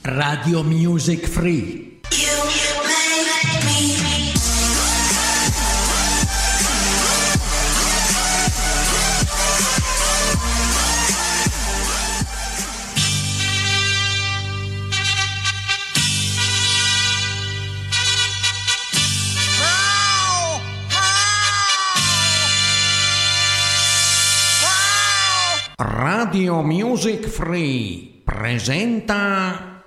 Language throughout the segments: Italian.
Radio Music Free. Radio Music Free presenta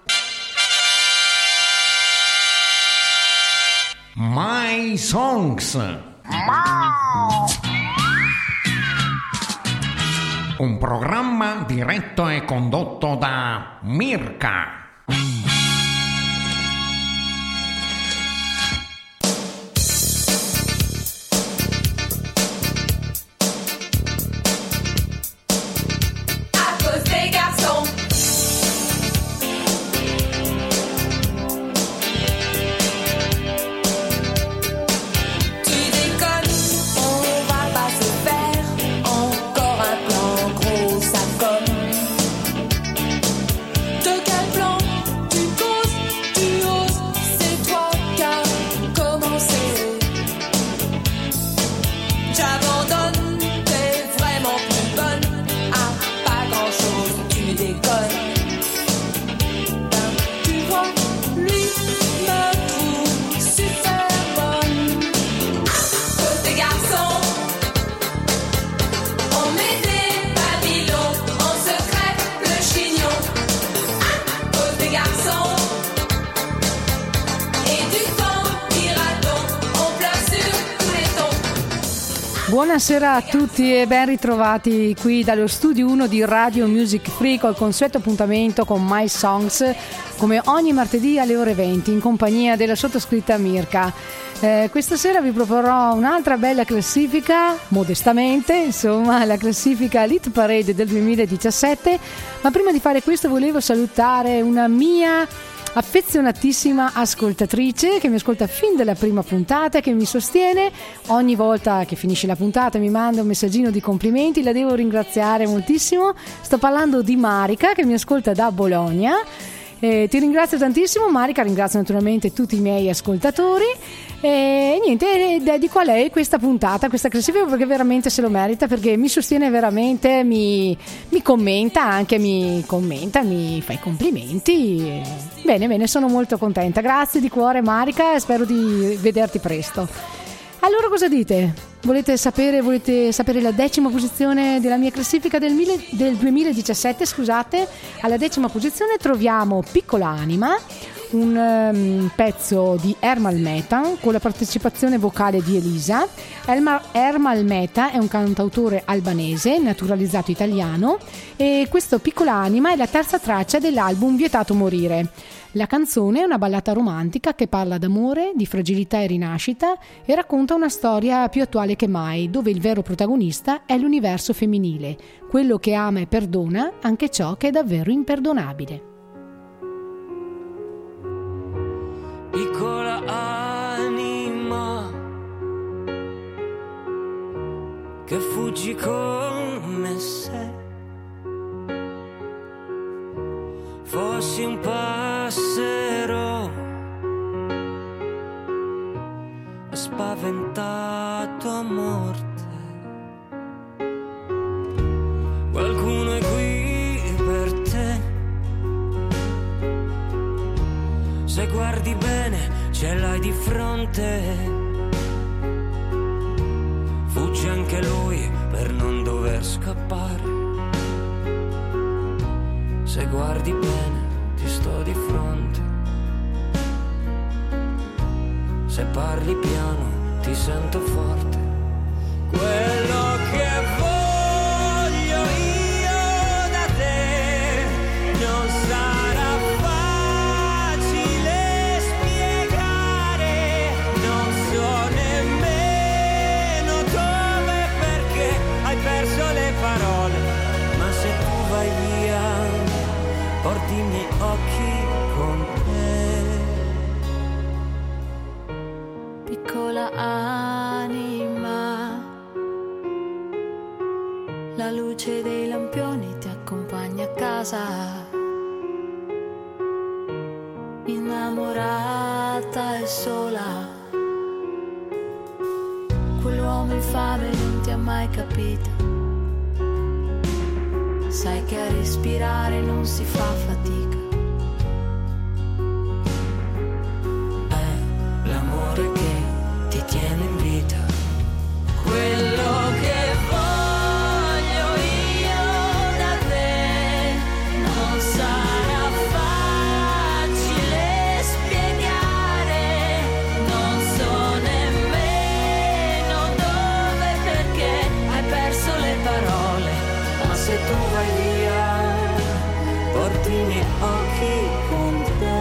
My Songs. Un programma diretto e condotto da Mirka. Buonasera a tutti e ben ritrovati qui dallo studio 1 di Radio Music Free col consueto appuntamento con My Songs, come ogni martedì alle ore 20 in compagnia della sottoscritta Mirka. Questa sera vi proporrò un'altra bella classifica, modestamente, insomma, la classifica Hit Parade del 2017, ma prima di fare questo volevo salutare una mia affezionatissima ascoltatrice che mi ascolta fin dalla prima puntata, che mi sostiene ogni volta che finisce la puntata, mi manda un messaggino di complimenti, la devo ringraziare moltissimo. Sto parlando di Marica che mi ascolta da Bologna. Ti ringrazio tantissimo Marica, ringrazio naturalmente tutti i miei ascoltatori e niente, dedico a lei questa puntata, questa classifica, perché veramente se lo merita, perché mi sostiene veramente, mi commenta anche, mi fa i complimenti. Bene, sono molto contenta, grazie di cuore Marica e spero di vederti presto. Allora cosa dite? Volete sapere la 10ª posizione della mia classifica del 2017, scusate? Alla 10ª posizione troviamo Piccola Anima, un pezzo di Ermal Meta con la partecipazione vocale di Elisa. Ermal Meta è un cantautore albanese naturalizzato italiano e questo Piccola Anima è la terza traccia dell'album Vietato Morire. La canzone è una ballata romantica che parla d'amore, di fragilità e rinascita e racconta una storia più attuale che mai, dove il vero protagonista è l'universo femminile, quello che ama e perdona anche ciò che è davvero imperdonabile. Piccola anima che fuggi come se fossi un passero spaventato a morte. Qualcuno è qui per te, se guardi bene ce l'hai di fronte. Fugge anche lui per non dover scappare. Se guardi bene ti sto di fronte. Se parli piano ti sento forte. Quello che voglio io da te non sarà facile spiegare. Non so nemmeno dove, perché hai perso le parole. Ma se tu vai via porti i miei occhi con te. Piccola anima innamorata e sola. Quell'uomo infame non ti ha mai capito. Sai che a respirare non si fa fatica. È l'amore che ti tiene in vita. Quello che voglio io da te non sarà facile spiegare. Non so nemmeno dove, perché hai perso le parole. Ma se tu vai via, porti i miei occhi con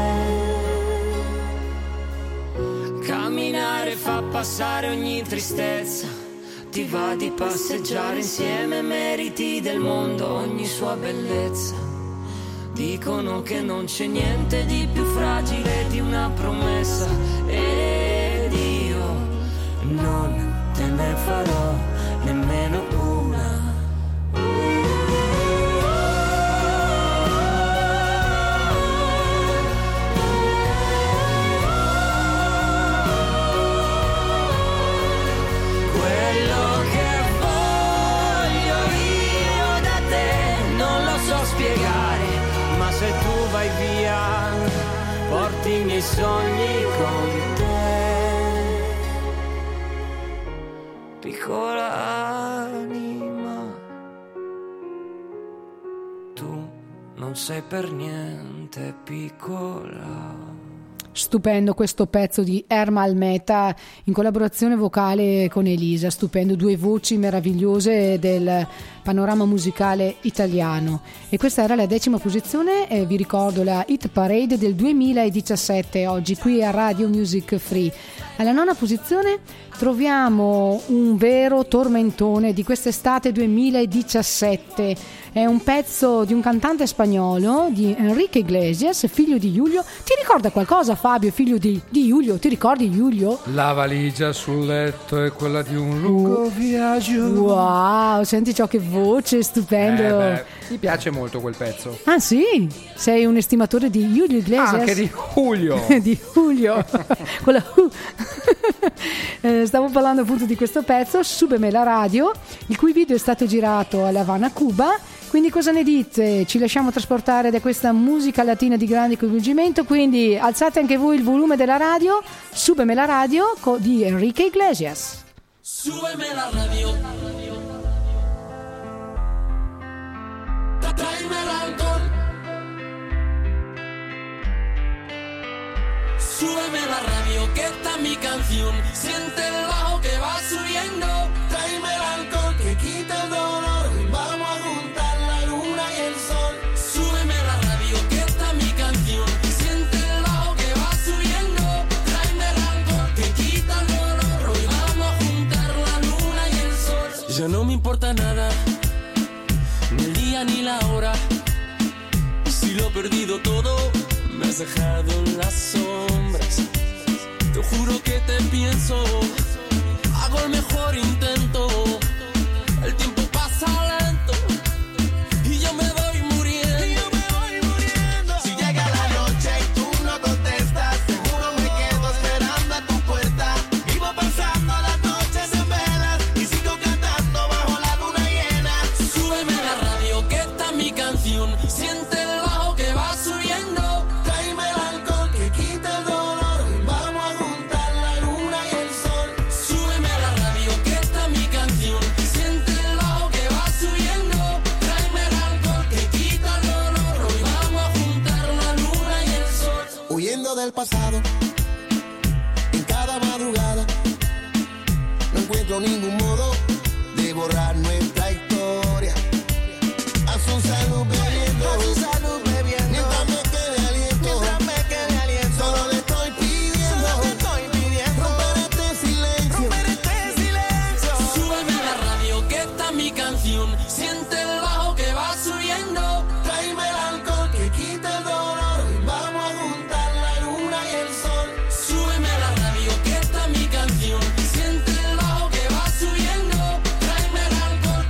te. Camminare fa passare ogni tristezza. Ti va di passeggiare insieme, meriti del mondo ogni sua bellezza. Dicono che non c'è niente di più fragile di una promessa, ed io non te ne farò nemmeno una. Se tu vai via, porti i miei sogni con te. Piccola anima, tu non sei per niente piccola. Stupendo questo pezzo di Erma Almeta in collaborazione vocale con Elisa, stupendo, due voci meravigliose del panorama musicale italiano. E questa era la 10ª posizione, vi ricordo la Hit Parade del 2017, oggi qui a Radio Music Free. Alla 9ª posizione troviamo un vero tormentone di quest'estate 2017. È un pezzo di un cantante spagnolo, di Enrique Iglesias, figlio di Julio. Ti ricorda qualcosa, Fabio, figlio di Julio? Ti ricordi Julio? La valigia sul letto è quella di un lungo viaggio. Wow, senti ciò, che voce, stupendo. Mi piace molto quel pezzo. Ah sì? Sei un estimatore di Julio Iglesias? Anche di Julio. Di Julio. Con la stavo parlando appunto di questo pezzo, Súbeme la radio, il cui video è stato girato a La Habana, Cuba. Quindi cosa ne dite? Ci lasciamo trasportare da questa musica latina di grande coinvolgimento, quindi alzate anche voi il volume della radio. Súbeme la radio di Enrique Iglesias. Súbeme la radio. Tráeme el alcohol. Súbeme la radio, que esta es mi canción. Siente el bajo que va subiendo. Tráeme el alcohol que quita el dolor. Vamos a juntar la luna y el sol. Súbeme la radio, que esta es mi canción. Siente el bajo que va subiendo. Tráeme el alcohol que quita el dolor. Hoy vamos a juntar la luna y el sol. Ya no me importa nada, ni el día ni la hora. Si lo he perdido todo, me has dejado en las sombras. Te juro que te pienso, hago el mejor intento. El tiempo pasa lento y yo me voy muriendo. Si llega la noche y tú no contestas, seguro me quedo esperando a tu puerta. Vivo pasando las noches en velas y sigo cantando bajo la luna llena. Súbeme la radio, que esta es mi canción. Siente el bajo que va subiendo. Tráeme el alcohol que quita el dolor. Vamos a juntar la luna y el sol. Súbeme la radio, que esta es mi canción. Siente el bajo que va subiendo. Tráeme el alcohol que quita el dolor. Hoy vamos a juntar la luna y el sol. Huyendo del pasado, en cada madrugada, no encuentro ningún modo de borrar nuestra historia. A su salud bebiendo, mientras me quede aliento, solo le estoy pidiendo, romper este silencio. Súbeme la radio, que esta es mi canción. Siente el bajo que va subiendo. Tráeme el alcohol que quita el dolor. Vamos a juntar la luna y el sol. Súbeme la radio, que esta es mi canción. Siente el bajo que va subiendo. Tráeme el alcohol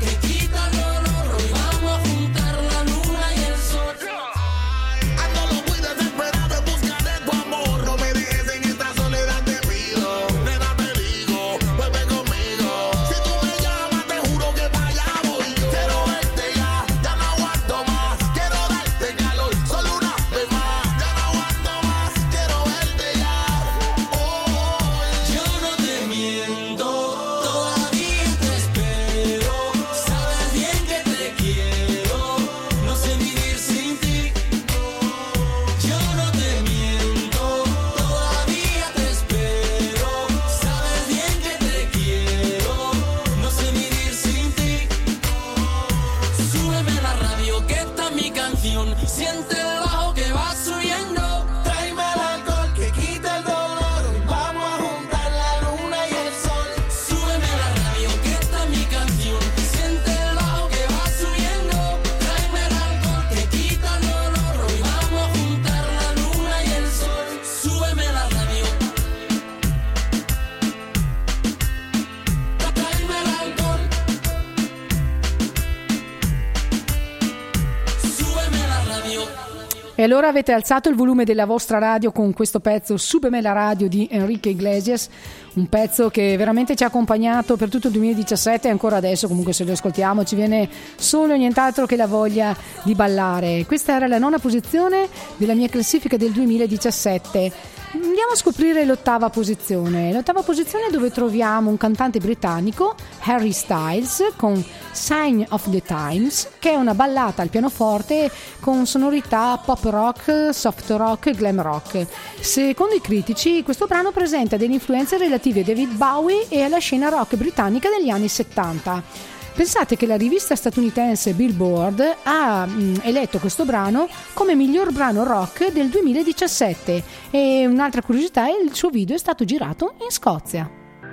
allora avete alzato il volume della vostra radio con questo pezzo Súbeme la radio di Enrique Iglesias, un pezzo che veramente ci ha accompagnato per tutto il 2017 e ancora adesso comunque se lo ascoltiamo ci viene solo e nient'altro che la voglia di ballare. Questa era la 9ª posizione della mia classifica del 2017. Andiamo a scoprire l'ottava posizione dove troviamo un cantante britannico, Harry Styles, con Sign of the Times, che è una ballata al pianoforte con sonorità pop rock, soft rock e glam rock. Secondo i critici questo brano presenta delle influenze relative a David Bowie e alla scena rock britannica degli anni 70. Pensate che la rivista statunitense Billboard ha eletto questo brano come miglior brano rock del 2017 e un'altra curiosità è che il suo video è stato girato in Scozia.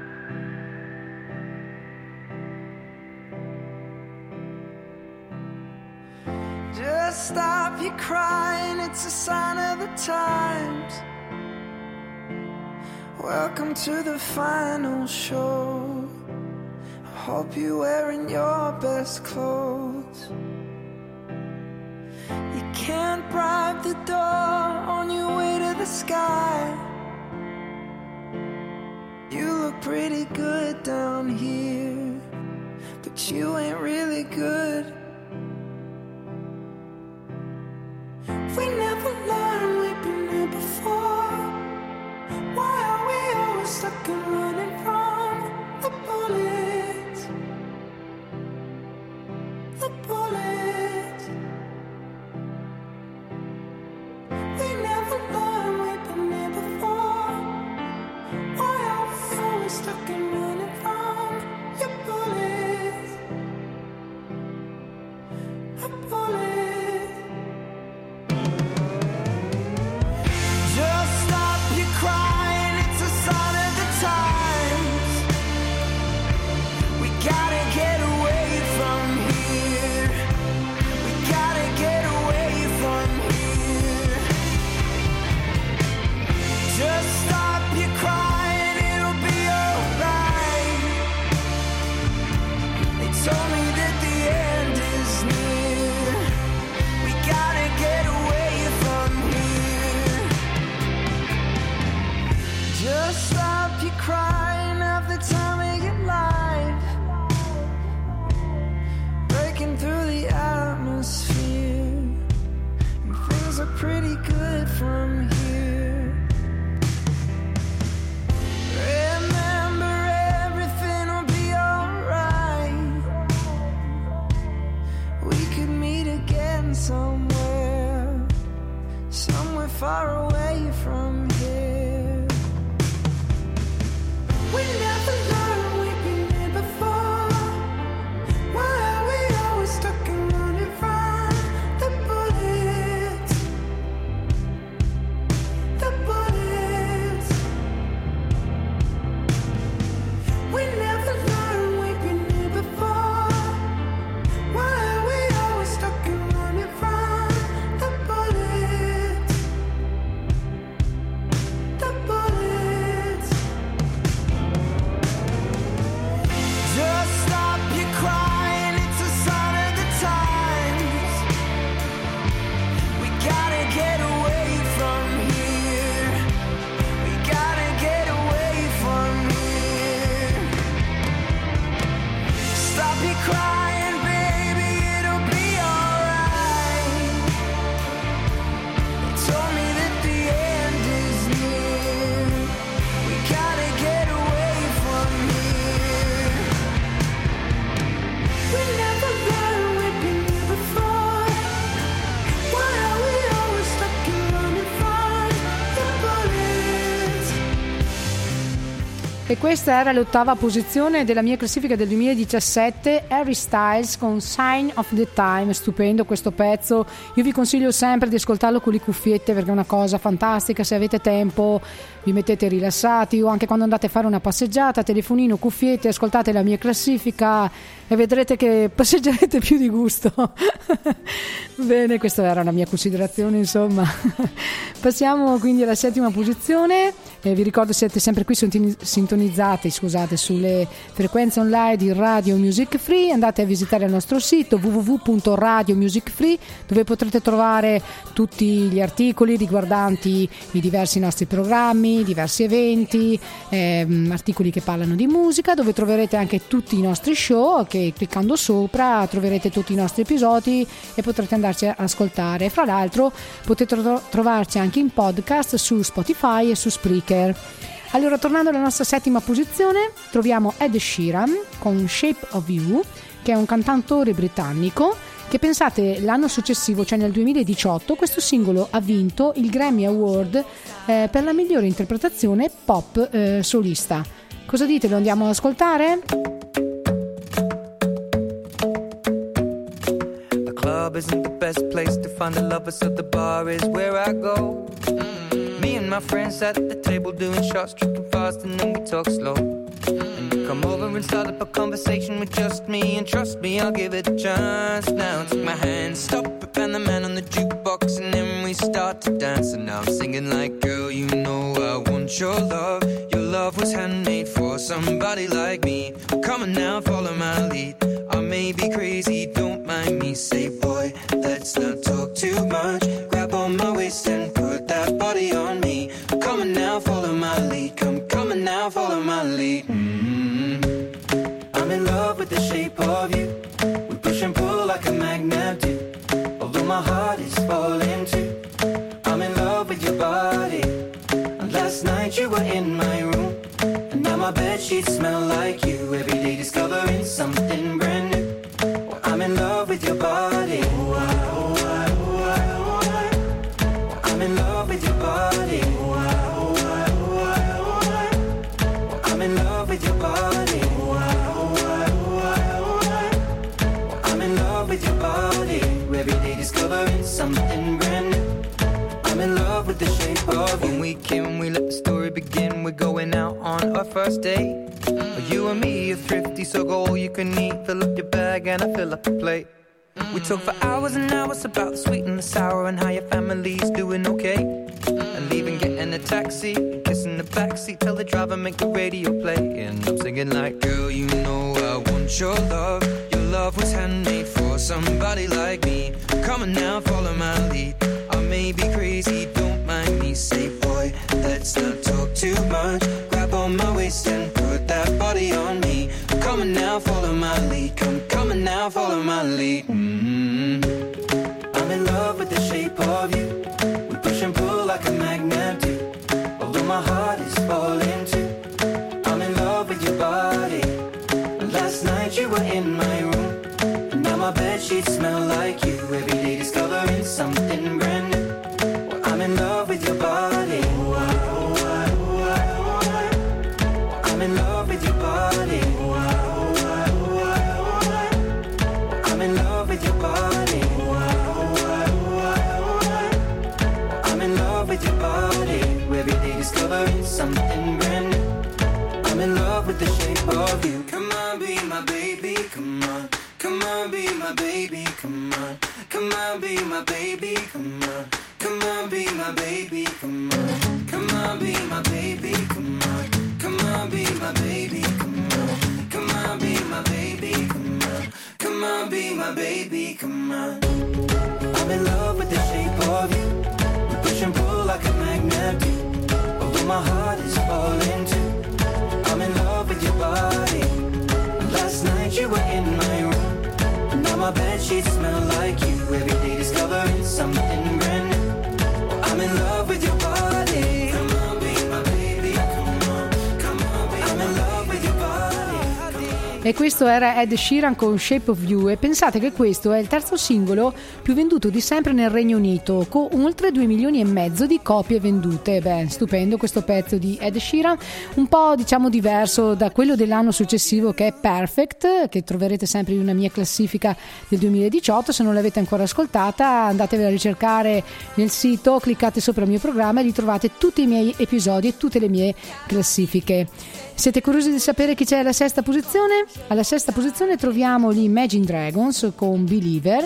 Just stop your crying, it's a sign of the times. Welcome to the final show. Hope you're wearing your best clothes. You can't bribe the door on your way to the sky. You look pretty good down here, but you ain't really good. We never learned, we've been here before. Why are we always stuck and running from the bullets? The bullets. We never learned, we've been here before. Why are we always stuck and running from your bullets? The bullets. Just stop your crying, it's a sign of the times. We gotta get away from here. We gotta get away from here. Just stop your crying, it'll be alright. They told me that the end is near. We gotta get away from here. Just stop your crying, have the time of your life. Breaking through the atmosphere, and things are pretty good from here. Remember, everything will be alright. We could meet again somewhere, somewhere far away from here. We never learned, we've been here before. Why are we always stuck and running from the bullets? The bullets. We never learned, we've been here before. Why are we always stuck and running from the bullets? The bullets. Just stop your crying, it's a sign of the times. We gotta get away from here. We gotta get away from here. Stop your crying, baby, it'll be alright. They told me that the end is near. We gotta get away from here. We never learned, we've been here before. Why are we always stuck and running from the bullets? E questa era l'8ª posizione della mia classifica del 2017, Harry Styles con Sign of the Time. Stupendo questo pezzo, io vi consiglio sempre di ascoltarlo con le cuffiette perché è una cosa fantastica. Se avete tempo vi mettete rilassati o anche quando andate a fare una passeggiata, telefonino, cuffiette, ascoltate la mia classifica e vedrete che passeggerete più di gusto. Bene, questa era una mia considerazione, insomma. Passiamo quindi alla 7ª posizione Vi ricordo siete sempre qui sintonizzati sulle frequenze online di Radio Music Free. Andate a visitare il nostro sito www.radiomusicfree, dove potrete trovare tutti gli articoli riguardanti i diversi nostri programmi, diversi eventi, articoli che parlano di musica, dove troverete anche tutti i nostri show, che cliccando sopra troverete tutti i nostri episodi e potrete andarci a ascoltare. Fra l'altro potete trovarci anche in podcast su Spotify e su Spreaker. Allora, tornando alla nostra settima posizione, troviamo Ed Sheeran con Shape of You, che è un cantautore britannico che, pensate, l'anno successivo, cioè nel 2018, questo singolo ha vinto il Grammy Award per la migliore interpretazione pop solista. Cosa dite? Lo andiamo ad ascoltare? The club isn't the best place to find the lovers, so the bar is where I go. Me and my friends at the table doing shots, tripping fast, and then we talk slow. And you come over and start up a conversation with just me, and trust me, I'll give it a chance. Now take my hand, stop it, and the man on the jukebox, and then we start to dance. And now I'm singing like, girl, you know I want your love. Your love was handmade for somebody like me. Come on now, follow my lead. I may be crazy, don't mind me. Say, boy, let's not talk too much. Grab on my waist and put that body on me. Come on now, follow my lead. Come on now, follow my lead. I'm in love with the shape of you. We push and pull like a magnet do. Although my heart is falling too. I'm in love with your body. And last night you were in my room. And now my bedsheets smell like you. Every day discovering something brand new. Well, I'm in love with your body. I'm in love with your body. I'm in love with your body. I'm in love with your body. Every day discovering something brand new. I'm in love with the shape of you. When we came, we let the story begin. We're going out on our first date. You and me are thrifty, so go all you can eat. Fill up your bag and I fill up the plate. We talk for hours and hours about the sweet and the sour and how your family's doing okay. And leaving, getting a taxi, kissing the backseat, tell the driver make the radio play. And I'm singing like, girl, you know I want your love. Your love was handmade for somebody like me. Come on now, follow my lead. I may be crazy, don't mind me. Say, boy, let's not talk too much. Grab on my waist and put that body on me. Come on now, follow my lead. Come on now, follow my lead. I'm in love with the shape of you. We push and pull like a magnet do. Although my heart is falling too. I'm in love with your body. And last night you were in my room. And now my bedsheets smell like you. Every day discovering something brand new. Well, I'm in love with your body. I'm in love with your body. I'm in love with your body. I'm in love with your body. Every day discovering something brand new. I'm in love with the shape of you. Come on, be my baby, come on. Come on, be my baby, come on. Come on, be my baby, come on. Come on, be my baby, come on. Come on, be my baby, come on. Come on, be my baby, come on. Come on, be my baby, come on. Come on, be my baby, come on. I'm in love with the shape of you. We push and pull like a magnet do. Although my heart is falling too. I'm in love with your body. Last night you were in my room. And now my bedsheets smell like you. Every day discovering something brand new. I'm in love with your body. Come on, be my baby, come on. Come on, be I'm in love with your body. E questo era Ed Sheeran con Shape of You, e pensate che questo è il terzo singolo più venduto di sempre nel Regno Unito, con oltre 2,5 milioni di copie vendute. Beh, stupendo questo pezzo di Ed Sheeran, un po' diciamo diverso da quello dell'anno successivo, che è Perfect, che troverete sempre in una mia classifica del 2018. Se non l'avete ancora ascoltata, andatevela a ricercare nel sito, cliccate sopra il mio programma e ritrovate tutti i miei episodi e tutte le mie classifiche. Siete curiosi di sapere chi c'è alla sesta posizione? Alla sesta posizione troviamo gli Imagine Dragons con Believer,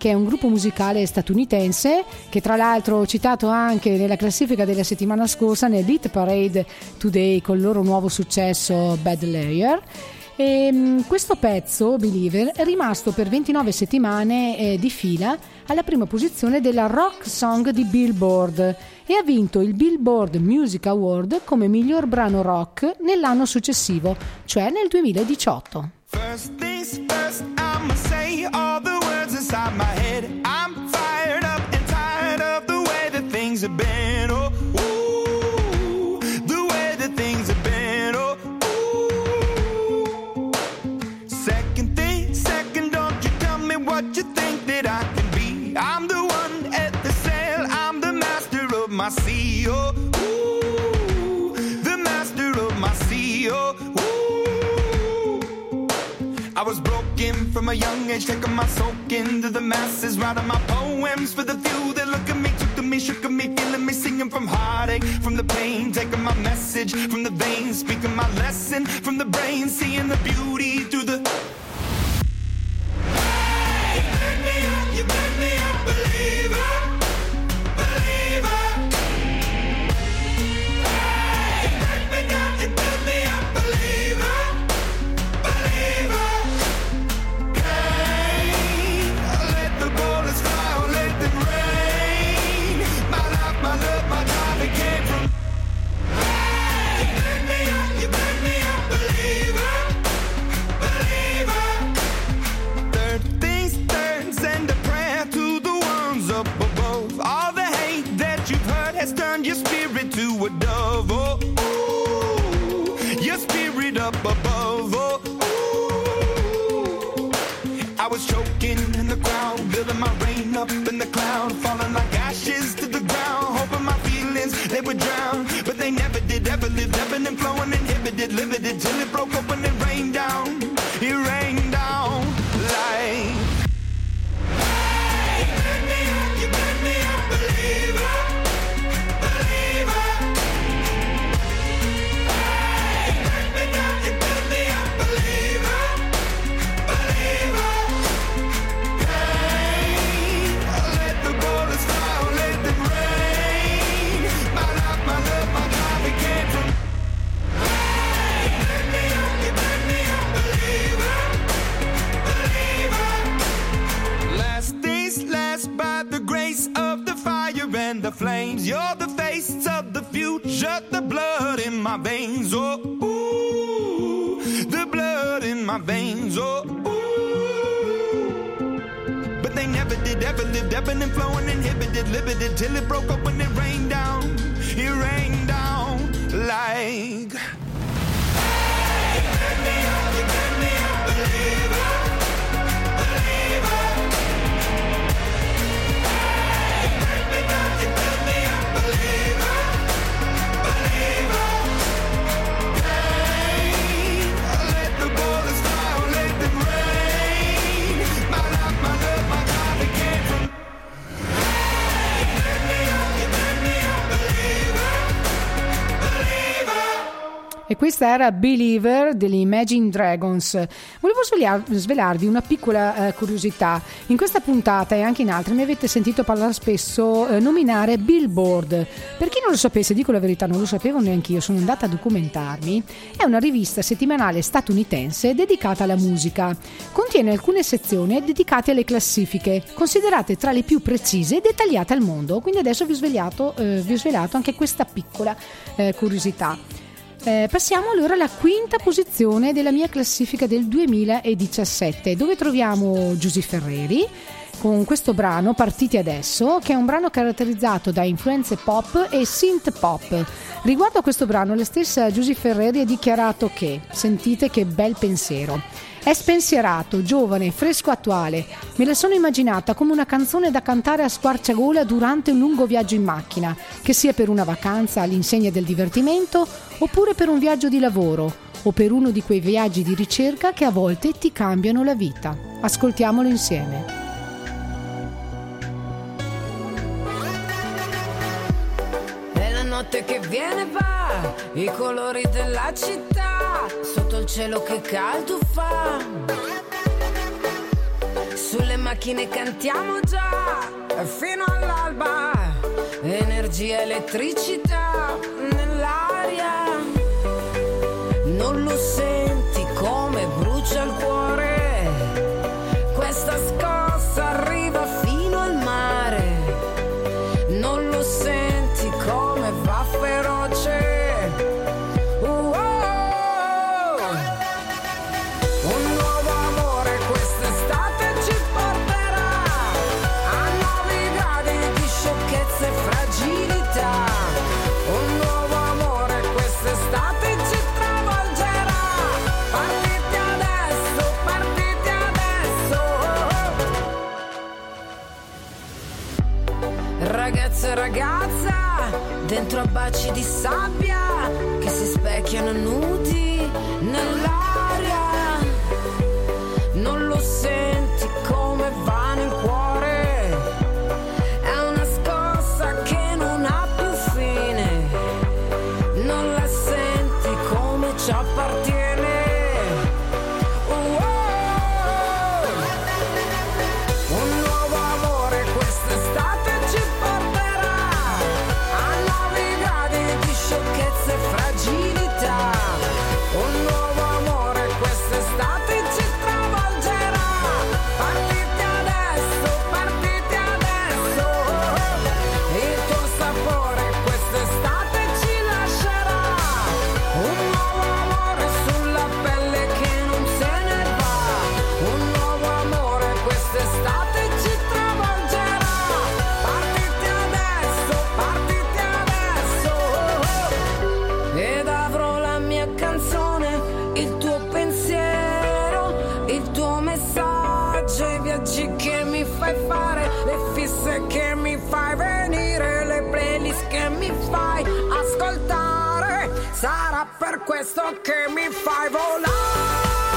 che è un gruppo musicale statunitense che tra l'altro ho citato anche nella classifica della settimana scorsa nel Beat Parade Today con il loro nuovo successo Bad Layer. E questo pezzo, Believer, è rimasto per 29 settimane di fila alla prima posizione della Rock Song di Billboard e ha vinto il Billboard Music Award come miglior brano rock nell'anno successivo, cioè nel 2018. First things first, I'ma say all the words inside my head. I'm fired up and tired of the way that things have been. Oh, ooh, the way that things have been. Oh, ooh. Second thing, second, don't you tell me what you think that I can be. I'm the one at the sail, I'm the master of my sea. Oh, ooh, the master of my sea. Oh, I was broken from a young age, taking my soak into the masses, writing my poems for the few that look at me, took to me, shook at me, feeling me, singing from heartache, from the pain, taking my message from the veins, speaking my lesson from the brain, seeing the beauty through the... Hey, you burn me up, believer, believer. Hey, you break me down, you build me up, believer, believer. My love, my drive, it came from. Hey, you burn me up, believer, believer. Third things third, send a prayer to the ones up above. All the hate that you've heard has turned your spirit to a dove. Oh, ooh, your spirit up above. Oh, ooh. I was choking in the crowd, building my rain up in the cloud, falling like ashes to the ground, hoping my feelings they would drown, but they never did, ever lived, ebbing and flowing, inhibited, limited, till it broke open and rained down, it rained down like. Hey, you burn me up, believer, believer. Hey, you break me down, you build me up, believer, believer. The flames, you're the face of the future, the blood in my veins, oh, ooh, the blood in my veins, oh, ooh. But they never did, ever lived, ebbing and flowing, inhibited, limited, till it broke up when it rained down like. Hey, you burn me up, believer, believer. E questa era Believer degli Imagine Dragons. Volevo svelarvi una piccola curiosità. In questa puntata e anche in altre mi avete sentito parlare spesso, nominare Billboard. Per chi non lo sapesse, dico la verità, non lo sapevo neanche io, sono andata a documentarmi. È una rivista settimanale statunitense dedicata alla musica. Contiene alcune sezioni dedicate alle classifiche, considerate tra le più precise e dettagliate al mondo. Quindi adesso vi ho svelato anche questa piccola curiosità. Passiamo allora alla quinta posizione della mia classifica del 2017, dove troviamo Giuseppe Ferreri con questo brano Partiti Adesso, che è un brano caratterizzato da influenze pop e synth pop. Riguardo a questo brano, la stessa Giuseppe Ferreri ha dichiarato che, sentite che bel pensiero, è spensierato, giovane, fresco, attuale. Me la sono immaginata come una canzone da cantare a squarciagola durante un lungo viaggio in macchina, che sia per una vacanza all'insegna del divertimento, oppure per un viaggio di lavoro, o per uno di quei viaggi di ricerca che a volte ti cambiano la vita. Ascoltiamolo insieme. È la notte che viene e va, i colori della città, sotto il cielo che caldo fa. sulle macchine cantiamo già fino all'alba, energia, elettricità nell'aria. Non lo senti come brucia il cuore? Questa scossa arriva fino al mare. Non lo senti come va feroce? Un nuovo amore quest'estate ci porterà a nuovi gradi di sciocchezza e fragilità. Un nuovo amore quest'estate ci travolgerà. Partite adesso, partite adesso. Ragazzo e ragazza, dentro a baci di sabbia che si specchiano nudi nell'aria. Non lo senti come va nel cuore? È una scossa che non ha più fine. Non la senti come ci appartiene? Un nuovo amore quest'estate ci porterà a nuovi gradi di sciocchezza e fragilità. Un nuovo amore quest'estate ci travolgerà. Partite adesso, partite adesso. Il tuo sapore quest'estate ci lascerà. Un nuovo amore sulla pelle che non se ne va. Un nuovo amore quest'estate ci travolgerà. Partite adesso, partite adesso. Ed avrò la mia canzone, il tuo pensiero, il tuo messaggio, i viaggi che mi fai fare, le fisse che mi fai venire, le playlist che mi fai ascoltare. Sarà per questo che mi fai volare.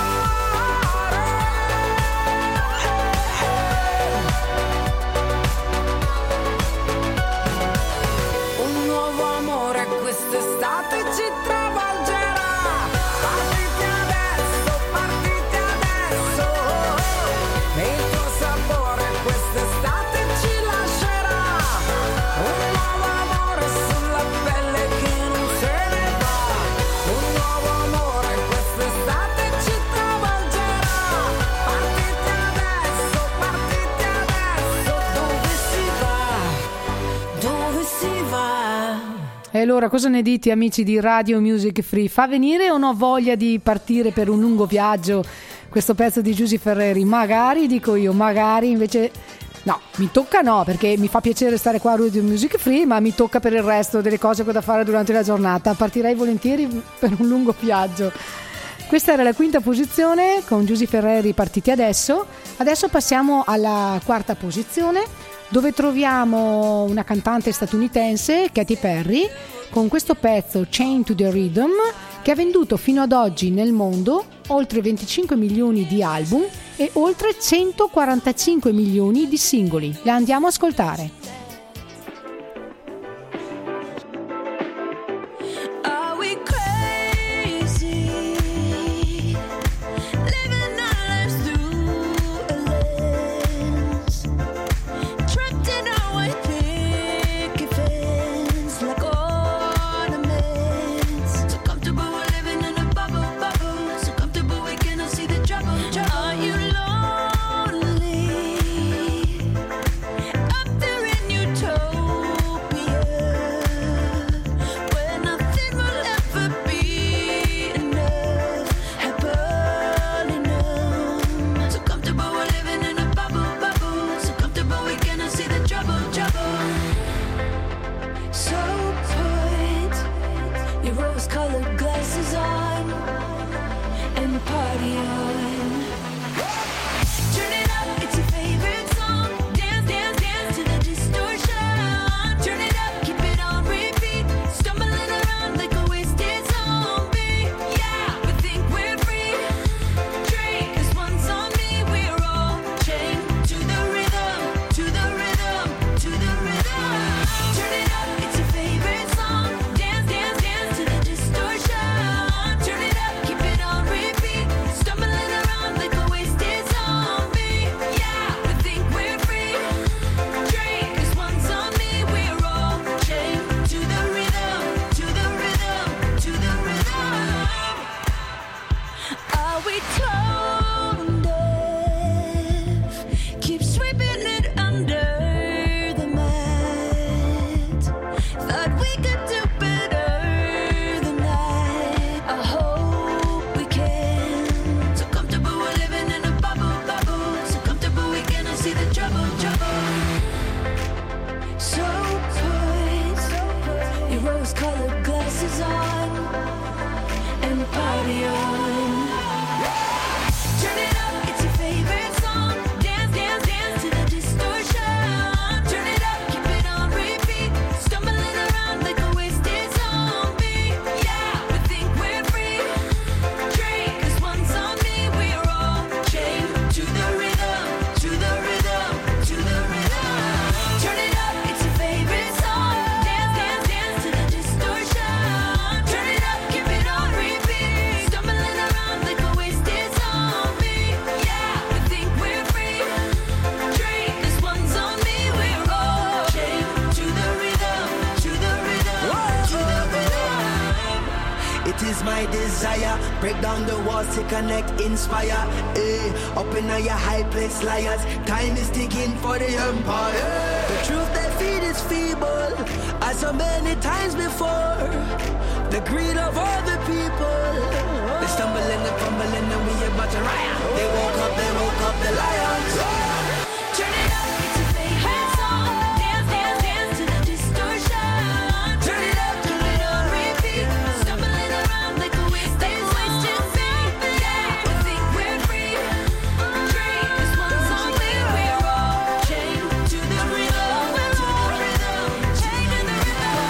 Un nuovo amore quest'estate ci travolgerà. Partite adesso, partite adesso. Il tuo sapore quest'estate ci lascerà. Un nuovo amore sulla pelle che non se ne va. Un nuovo amore quest'estate ci travolgerà. Partite adesso, partite adesso. Dove si va? Dove si va? E allora cosa ne dite, amici di Radio Music Free? Fa venire o no voglia di partire per un lungo viaggio questo pezzo di Giusy Ferreri? Magari, dico io, magari invece no, mi tocca no, perché mi fa piacere stare qua a Radio Music Free, ma mi tocca per il resto delle cose che ho da fare durante la giornata. Partirei volentieri per un lungo viaggio. Questa era la quinta posizione con Giusy Ferreri, Partite adesso. Adesso passiamo alla quarta posizione, dove troviamo una cantante statunitense, Katy Perry, con questo pezzo Chained to the Rhythm, che ha venduto fino ad oggi nel mondo oltre 25 milioni di album e oltre 145 milioni di singoli. La andiamo a ascoltare. Are we crazy? Living our lives through a lens, trapped in our white picket fence like ornaments. So comfortable we're living in a bubble, bubble. So comfortable we cannot see the trouble, trouble. Are you lonely? Up there in rose-colored glasses on and party on. Turn it up, it's your favorite song. Dance, dance, dance to the distortion. Turn it up, keep it on repeat. Stumbling around like a wasted zombie. Yeah, we think we're free. Drink, 'cause one's on me. We're all chained to the rhythm, to the rhythm, to the rhythm. Turn it up, it's your favorite song. Dance, dance, dance to the distortion. Turn it up, keep it on repeat. Stumbling around like a wasted zombie. Yeah, we think we're free. Drink, 'cause one's on me. We're all chained to the rhythm, to the rhythm, to the rhythm. It is my desire, break down the walls to connect, inspire. Up in your high place, liars. Time is ticking for the empire. The truth they feed is feeble, as so many times before. The greed of all the people. They stumble and they fumble and we about to riot. They woke up the lions. Turn it up, it's your favorite song. Dance, dance, dance to the distortion. Turn it up, keep it on repeat. Stumbling around like a wasted zombie. Yeah, we think we're free. Drink, 'cause one's on me. We're all chained to the rhythm, to the rhythm, chained to the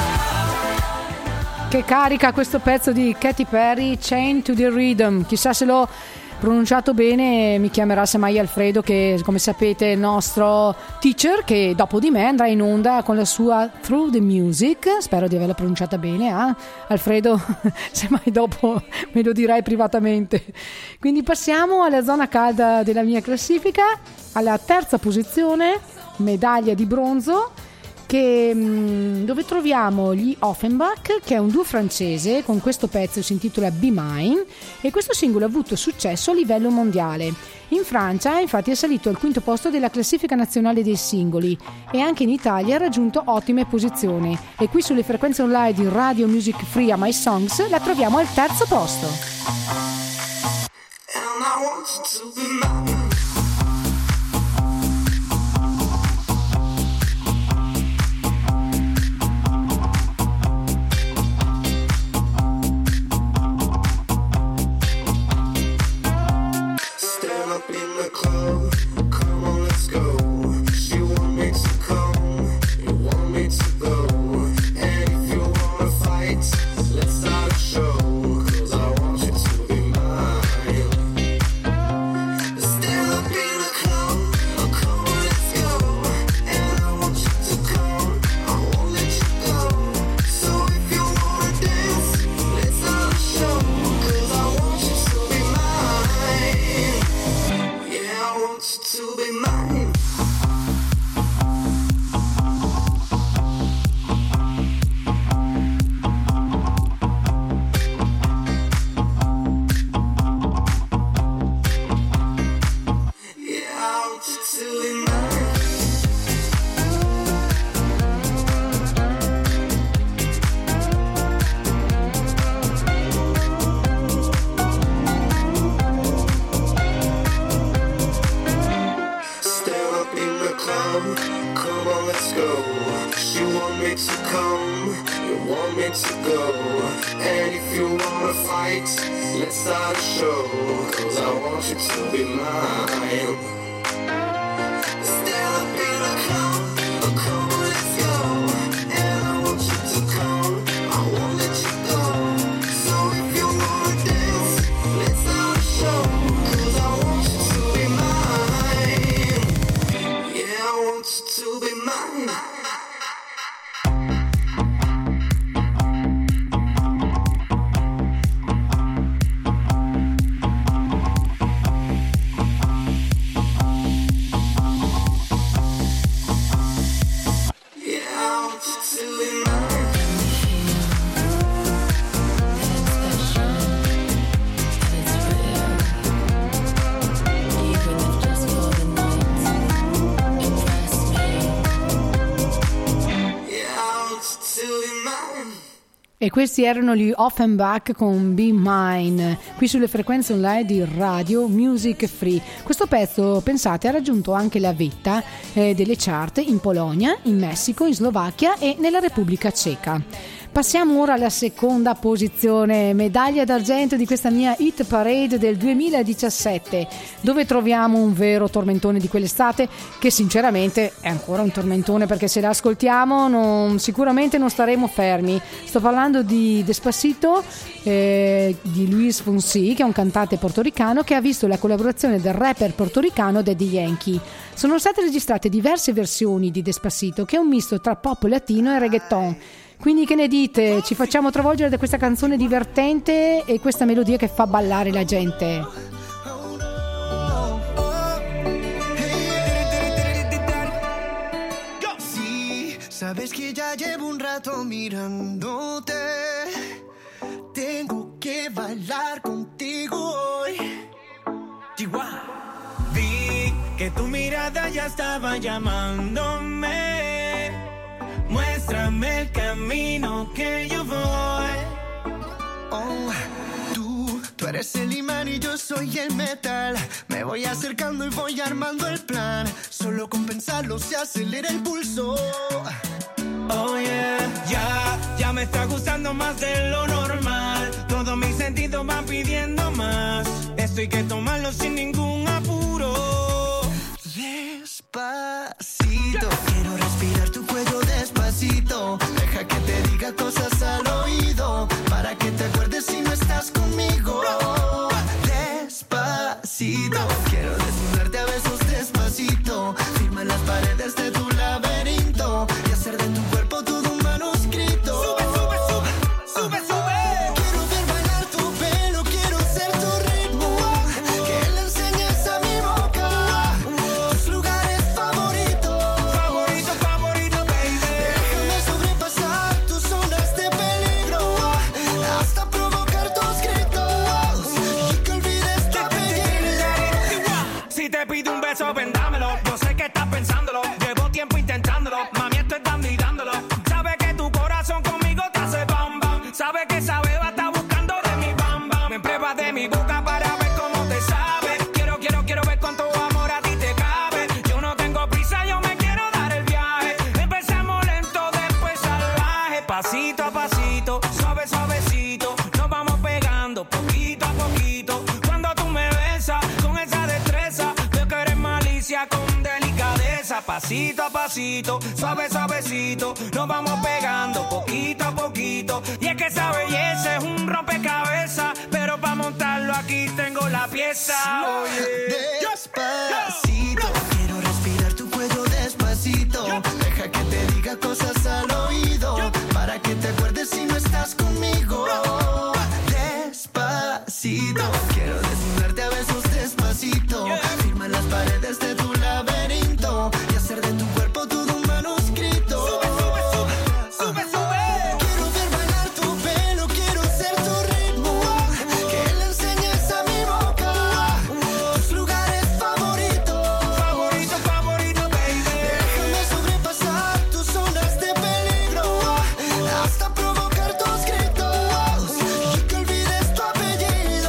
rhythm. Che carica questo pezzo di Katy Perry, Chained to the Rhythm. Chissà se l'ho pronunciato bene, mi chiamerà semmai Alfredo, che come sapete è il nostro teacher, che dopo di me andrà in onda con la sua Through the Music. Spero di averla pronunciata bene, Alfredo, semmai dopo me lo dirai privatamente. Quindi passiamo alla zona calda della mia classifica, alla terza posizione, medaglia di bronzo, dove troviamo gli Offenbach, che è un duo francese. Con questo pezzo si intitola Be Mine e questo singolo ha avuto successo a livello mondiale. In Francia infatti è salito al quinto posto della classifica nazionale dei singoli e anche in Italia ha raggiunto ottime posizioni, e qui sulle frequenze online di Radio Music Free a My Songs la troviamo al terzo posto. And I want you to be mine. Stand up in the club, come on, let's go. She want me to come, you want me to go. And if you wanna fight, let's start a show. 'Cause I want you to be mine. Stand up in the club, come on, let's go. And I want you to come, I won't let you go. So if you wanna dance, let's start a show. 'Cause I want you to be mine. Yeah, I want you to be mine. Yeah, I want you to be mine. Stand up in the club, come on, let's go. She want me to come, you want me to go. And if you wanna fight, let's start a show. 'Cause I want you to be mine. Stand up in the club, come on, let's go. And I want you to come, I won't let you go. So if you wanna dance, let's start a show. 'Cause I want you to be mine. Yeah, I want you to be mine. E questi erano gli Offenbach con Be Mine, qui sulle frequenze online di Radio Music Free. Questo pezzo, pensate, ha raggiunto anche la vetta delle chart in Polonia, in Messico, in Slovacchia e nella Repubblica Ceca. Passiamo ora alla seconda posizione, medaglia d'argento di questa mia hit parade del 2017, dove troviamo un vero tormentone di quell'estate, che sinceramente è ancora un tormentone, perché se la ascoltiamo sicuramente non staremo fermi. Sto parlando di Despacito, di Luis Fonsi, che è un cantante portoricano che ha visto la collaborazione del rapper portoricano Daddy Yankee. Sono state registrate diverse versioni di Despacito, che è un misto tra pop latino e reggaeton. Quindi che ne dite? Ci facciamo travolgere da questa canzone divertente e questa melodia che fa ballare la gente. Sí, sabes que ya llevo un rato mirándote. Tengo que bailar contigo hoy. Chihuahua. Vi que tu mirada ya estaba llamándome. Muéstrame el camino que yo voy. Oh, tú eres el imán y yo soy el metal. Me voy acercando y voy armando el plan. Solo con pensarlo se acelera el pulso. Oh yeah, ya me está gustando más de lo normal. Todos mis sentidos van pidiendo más. Esto hay que tomarlo sin ningún apuro. Despacito, quiero respirar tu cuello despacito. Deja que te diga cosas al oído, para que te acuerdes si no estás conmigo. Despacito, quiero desnudarte a besos despacito. Firma las paredes de tu laberinto y hacer de tu cuerpo todo un manuscrito. Sube, sube, sube, sube, sube. Quiero ver bailar tu pelo, quiero ser tu ritmo. Que le enseñes a mi boca tus lugares favoritos. Favorito, favorito, baby. Déjame sobrepasar tus zonas de peligro, hasta provocar tus gritos y que olvides tu apellido. Si te pido un beso, vendámelo. Yo sé que estás pensándolo. Llevo tiempo intentándolo. Mami, esto es dando y dándolo. Sabe que tu corazón conmigo te hace bam bam. Sabe que esa beba está buscando de mi bam bam. Me pruebas de mi boca para ver cómo te sabe. Quiero ver cuánto amor a ti te cabe. Yo no tengo prisa, yo me quiero dar el viaje. Empezamos lento, después salvaje. Pasito a pasito, suave, suavecito. Nos vamos pegando poquito a poquito. Cuando tú me besas con esa destreza, veo que eres malicia con delicadeza. Pasito a pasito, suave, suavecito. Nos vamos pegando poquito a poquito. Y es que esa belleza es un rompecabezas, pero para montarlo aquí tengo la pieza. Despacito, quiero respirar tu cuello despacito. Deja que te diga cosas al oído, para que te acuerdes si no estás conmigo. Despacito, quiero desnudarte a besos despacito. Firma las paredes de tu laberinto y hacer de tu cuerpo todo un manuscrito. Sube, sube, sube, sube, sube. Quiero ver bailar tu pelo, quiero ser tu ritmo. Que le enseñes a mi boca tus lugares favoritos. Favorito, favorito, baby. Déjame sobrepasar tus zonas de peligro, hasta provocar tus gritos y que olvides tu apellido.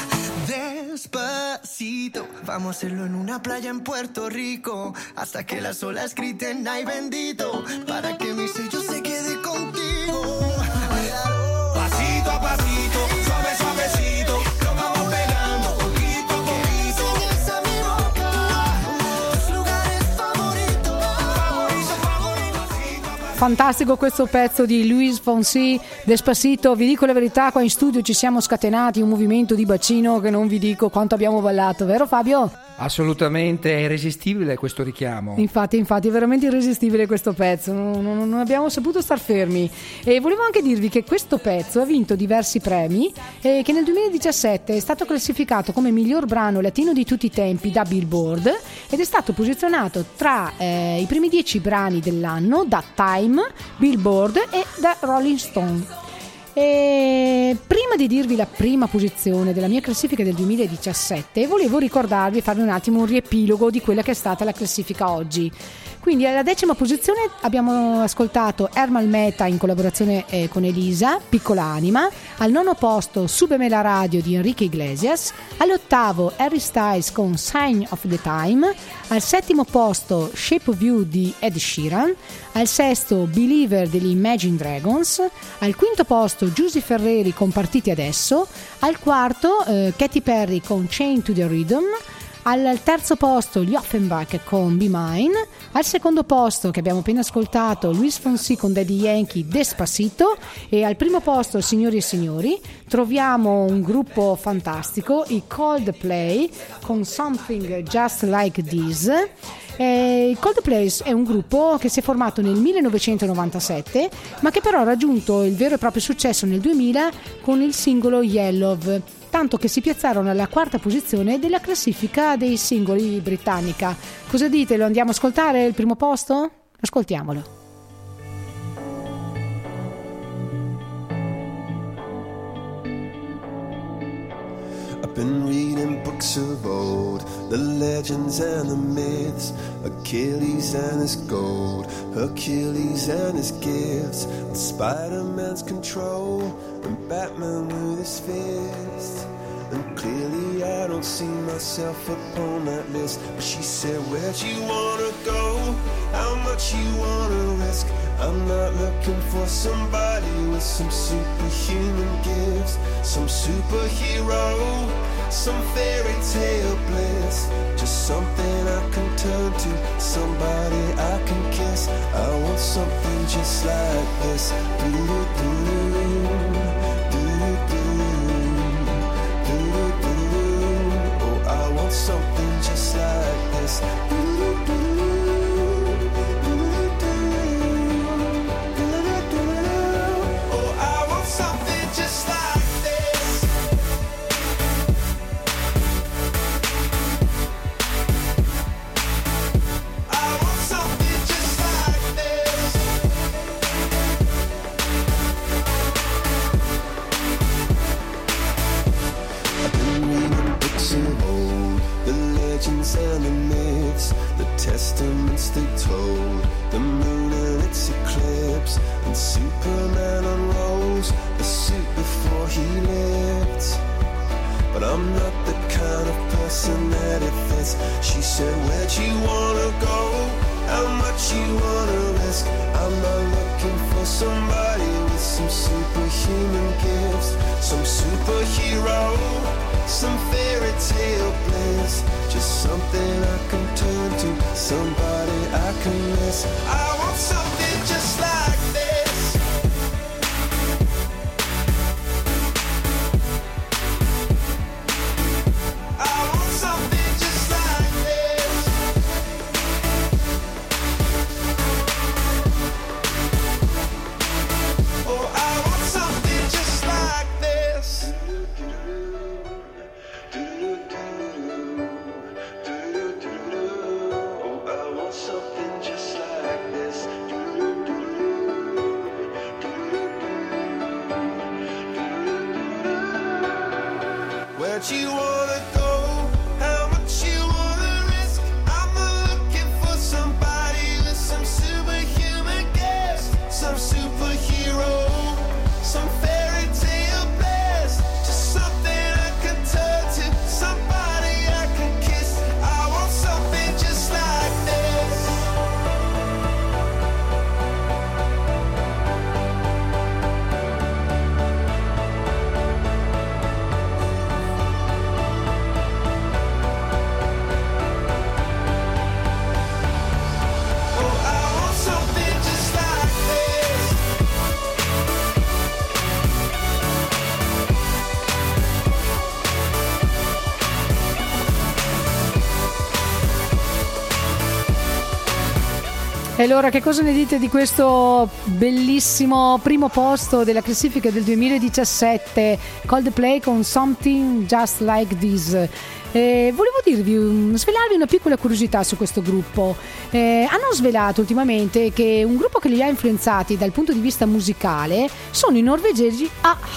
Despacito, vamos a hacerlo en una playa en Puerto Rico, hasta que las olas griten ay bendito, para que mi sello se quede contigo. Pasito a pasito, suave, suavecito. Nos vamos pegando poquito a poquito. Enseñas a mi boca tus lugares favoritos. Favorito, favorito. Pasito a pasito. Fantastico questo pezzo di Luis Fonsi, Despacito. Vi dico la verità, qua in studio ci siamo scatenati un movimento di bacino che non vi dico quanto abbiamo ballato, vero Fabio? Assolutamente, è irresistibile questo richiamo. Infatti è veramente irresistibile questo pezzo, non abbiamo saputo star fermi. E volevo anche dirvi che questo pezzo ha vinto diversi premi e che nel 2017 è stato classificato come miglior brano latino di tutti i tempi da Billboard ed è stato posizionato tra i primi 10 brani dell'anno da Time, Billboard e da Rolling Stone. E prima di dirvi la prima posizione della mia classifica del 2017 volevo ricordarvi e farvi un attimo un riepilogo di quella che è stata la classifica oggi. Quindi alla 10ª posizione abbiamo ascoltato Ermal Meta in collaborazione con Elisa, Piccola Anima. Al 9º posto Súbeme la radio di Enrique Iglesias. All'8º Harry Styles con Sign of the Time. Al 7º posto Shape of You di Ed Sheeran. Al 6º Believer degli Imagine Dragons. Al 5º posto Giusy Ferreri con Partiti Adesso. Al 4º Katy Perry con Chain to the Rhythm. Al 3º posto gli Offenbach con Be Mine. Al 2º posto, che abbiamo appena ascoltato, Luis Fonsi con Daddy Yankee, Despacito. E al 1º posto, signori e signori, troviamo un gruppo fantastico, i Coldplay con Something Just Like This. Il Coldplay è un gruppo che si è formato nel 1997, ma che però ha raggiunto il vero e proprio successo nel 2000 con il singolo Yellow, tanto che si piazzarono alla 4ª posizione della classifica dei singoli britannica. Cosa dite? Lo andiamo a ascoltare il primo posto? Ascoltiamolo. I've been reading books of old, the legends and the myths, Achilles and his gold, Hercules and his gifts, and Spider-Man's control, and Batman with his fist. And clearly I don't see myself upon that list. But she said, where'd you wanna go? How much you wanna risk? I'm not looking for somebody with some superhuman gifts, some superhero, some fairy tale bliss. Just something I can turn to, somebody I can kiss. I want something just like this. Oh, I want something just like this. And the myths, the testaments they told, the moon and its eclipse, and Superman unrolls the suit before he lived. But I'm not the kind of person that it fits. She said, where'd you wanna go? How much you wanna risk? I'm not looking for somebody with some superhuman gifts, some superhero, some fairy tale bliss. Just something I can turn to, somebody I can miss. I want something just like this. I want something just like this. Oh, I want something just like this. Something just like this. Where'd you wanna go? How much you wanna risk? I'm not looking for somebody with some superhuman gifts, some superhero, some fairy tale bliss. Just something I can turn to, somebody I can kiss. I want something just like this. E allora, che cosa ne dite di questo bellissimo primo posto della classifica del 2017, Coldplay con Something Just Like This? Volevo svelarvi una piccola curiosità su questo gruppo. Hanno svelato ultimamente che un gruppo che li ha influenzati dal punto di vista musicale sono i norvegesi a-ha.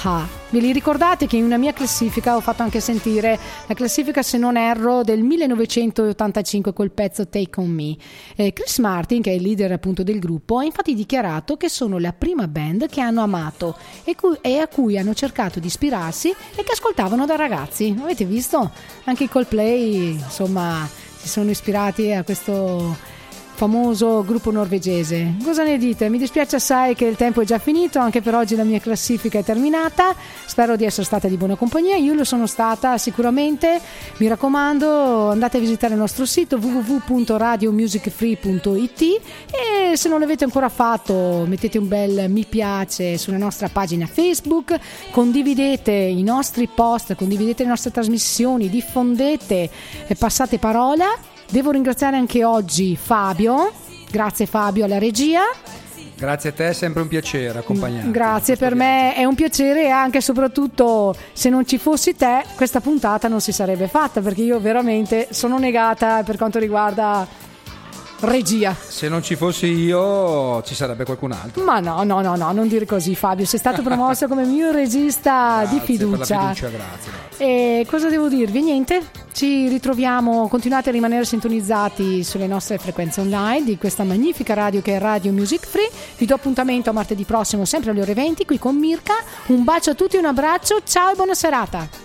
Ve li ricordate che in una mia classifica ho fatto anche sentire la classifica, se non erro, del 1985 col pezzo Take On Me. Chris Martin, che è il leader appunto del gruppo, ha infatti dichiarato che sono la prima band che hanno amato e a cui hanno cercato di ispirarsi e che ascoltavano da ragazzi. Avete visto? Anche i Coldplay, insomma, si sono ispirati a questo famoso gruppo norvegese. Cosa ne dite? Mi dispiace assai che il tempo è già finito, anche per oggi la mia classifica è terminata. Spero di essere stata di buona compagnia, io lo sono stata sicuramente. Mi raccomando, andate a visitare il nostro sito www.radiomusicfree.it e se non l'avete ancora fatto mettete un bel mi piace sulla nostra pagina Facebook, condividete i nostri post, condividete le nostre trasmissioni, diffondete e passate parola. Devo ringraziare anche oggi Fabio, grazie Fabio alla regia. Grazie a te, è sempre un piacere accompagnarti. Grazie, per me è un piacere e anche e soprattutto se non ci fossi te questa puntata non si sarebbe fatta, perché io veramente sono negata per quanto riguarda regia. Se non ci fossi io ci sarebbe qualcun altro. Ma no, non dire così Fabio, sei stato promosso come mio regista di fiducia. Per la fiducia, grazie. E cosa devo dirvi? Niente, ci ritroviamo, continuate a rimanere sintonizzati sulle nostre frequenze online di questa magnifica radio che è Radio Music Free. Vi do appuntamento a martedì prossimo sempre alle ore 20 qui con Mirka. Un bacio a tutti, un abbraccio, ciao e buona serata.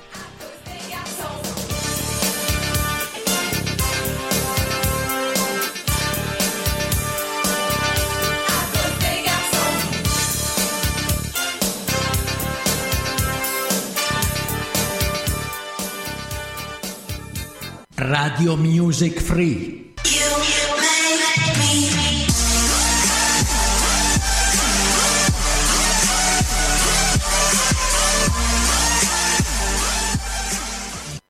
Radio Music Free.